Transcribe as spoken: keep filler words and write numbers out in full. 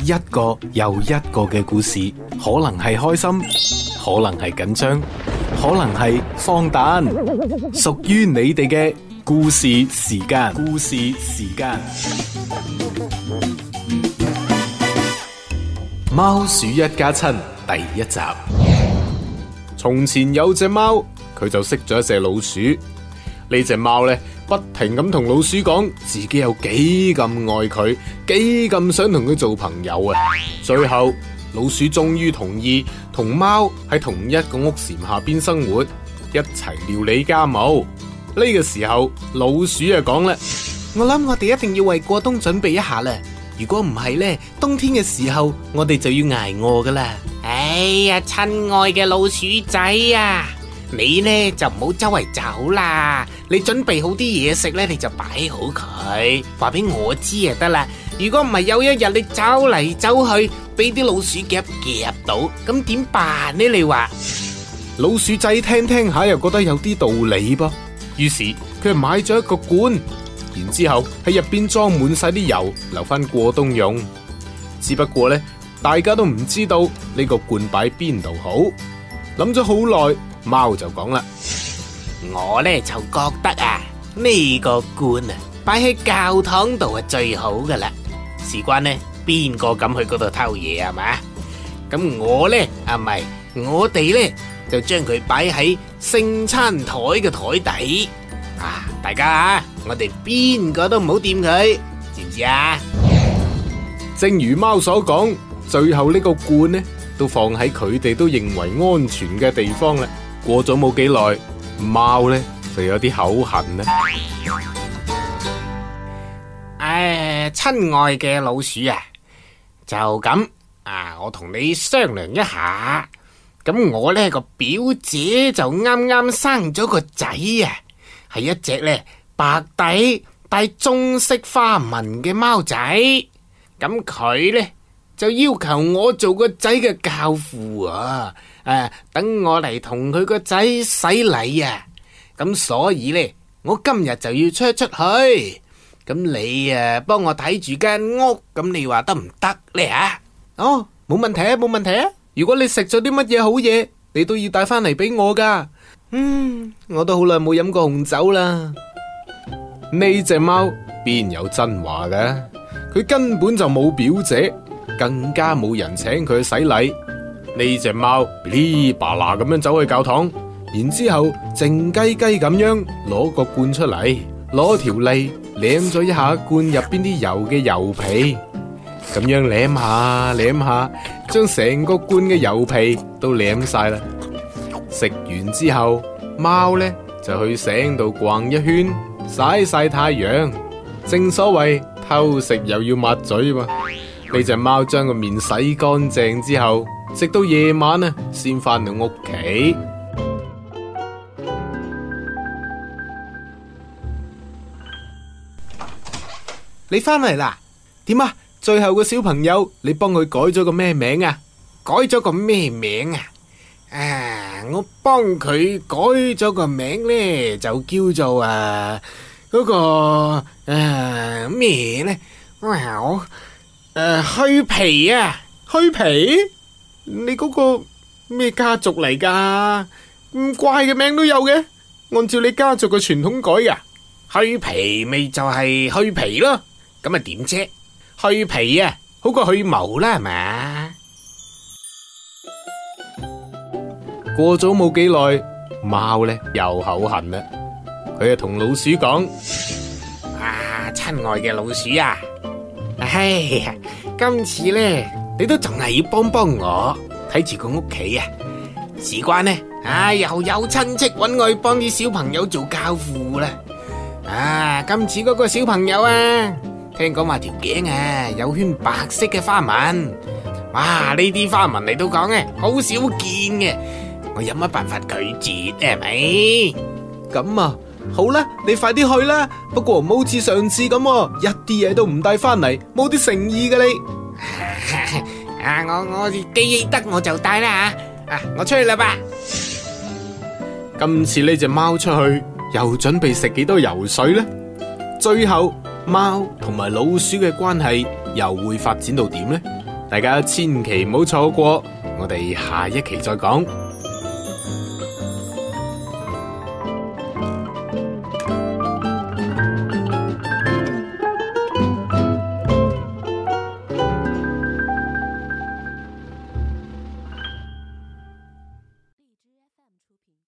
一個又一個嘅故事，可能係開心，可能係緊張，可能係荒誕，屬於你哋嘅故事時間。故事時間，貓鼠一家親第一集。從前有隻貓，佢就識咗一隻老鼠。呢隻貓呢，不停咁同老鼠講自己有幾咁愛佢，幾咁想同佢做朋友啊！最後老鼠終於同意同貓喺同一個屋檐下邊生活，一齊料理家務。呢個時候老鼠啊講啦：我諗我哋一定要為過冬準備一下啦，如果唔係呢，冬天嘅時候我哋就要捱餓噶啦。 哎呀，親愛嘅老鼠仔啊，你呢就唔好周圍走啦，你準備好啲嘢食呢，你就擺好佢，話俾我知就得啦。如果唔係有一日你走嚟走去，俾啲老鼠夾夾到，咁點辦呢？你話？ 老鼠仔聽聽下又覺得有啲道理噃，於是佢買咗一個罐，然之後喺入邊裝滿晒啲油，留翻過冬用。只不過呢，大家都唔知道呢個罐擺邊度好。諗咗好耐，貓就講啦： 我呢就覺得啊，呢個罐啊擺喺教堂度係最好噶啦。事關呢，邊個敢去嗰度偷嘢啊嘛？咁我呢啊唔係，我哋呢就將佢擺喺聖餐台嘅台底啊！大家啊，我哋邊個都唔好掂佢，知唔知啊？ 正如貓所講，最後呢個罐呢都放喺佢哋都認為安全嘅地方啦。過咗冇幾耐，貓呢就有啲口痕啦。 誒，親愛嘅老鼠啊，就咁啊，我同你商量一下。咁我呢個表姐就啱啱生咗個仔啊，係一隻呢白底帶棕色花紋嘅貓仔。咁佢呢就要求我做個仔嘅教父啊，誒、啊，等我嚟同佢個仔洗禮啊。咁所以呢，我今日就要出出去。咁你啊，幫我睇住間屋，咁你話得唔得呢？吓？ 哦，冇問題啊，冇問題啊。如果你食咗啲乜嘢好嘢，你都要帶翻嚟俾我噶。嗯，我都好耐冇飲過紅酒啦。呢隻貓邊有真話嘅？佢根本就冇表姐，更加冇人請佢去洗禮。呢隻貓噼哩啪啦咁樣走去教堂，然之後靜雞雞咁樣攞個罐出嚟，攞條脷舐咗一下罐入邊啲油嘅油皮，咁樣舐下舐下，將成個罐嘅油皮都舐晒啦。食完之後，貓呢就去醒度逛一圈，曬曬太陽。正所謂偷食又要抹嘴嘛。呢隻貓將個面洗乾淨之後，直到夜晚啊，先翻到屋企。你翻嚟啦？點啊？最後個小朋友，你幫佢改咗個咩名啊？ 改咗個咩名啊？啊，我幫佢改咗個名呢，就叫做啊嗰、那個誒咩呢？哇，我誒虛皮啊， 虛皮？你嗰個咩家族嚟噶？咁怪嘅名都有嘅？按照你家族嘅傳統改噶？ 虛皮咪就係虛皮咯。咁啊點啫？去皮啊，好過去毛啦，係嘛？ 過咗冇幾耐，貓呢又口痕啦。佢就同老鼠講： 啊，親愛嘅老鼠啊，哎呀，今次呢，你都仲係要幫幫我睇住個屋企啊。事關呢，啊又有親戚揾我去幫啲小朋友做教父啦。啊，今次嗰個小朋友啊，聽講話條頸啊有圈白色嘅花紋，哇！呢啲花紋嚟到講嘅好少見嘅，我有乜辦法拒絕係咪？ 咁啊，好啦，你快啲去啦。不過唔好似上次咁，一啲嘢都唔帶翻嚟，冇啲誠意嘅你。 啊，我我記得我就帶啦吓，啊，我出去啦吧。 今次呢隻貓出去又準備食幾多油水呢？最後貓同埋老鼠嘅關係又會發展到點呢？ 大家千祈唔好錯過，我哋下一期再講。